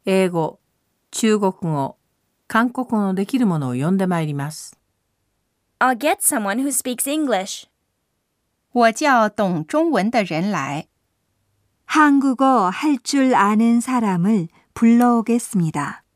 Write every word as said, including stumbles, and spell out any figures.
英語、中国語、韓国語のできるものを呼んでまいります。 I'll get someone who speaks English. 我叫懂中文的人来。 한국어 할 줄 아는 사람을 불러오겠습니다.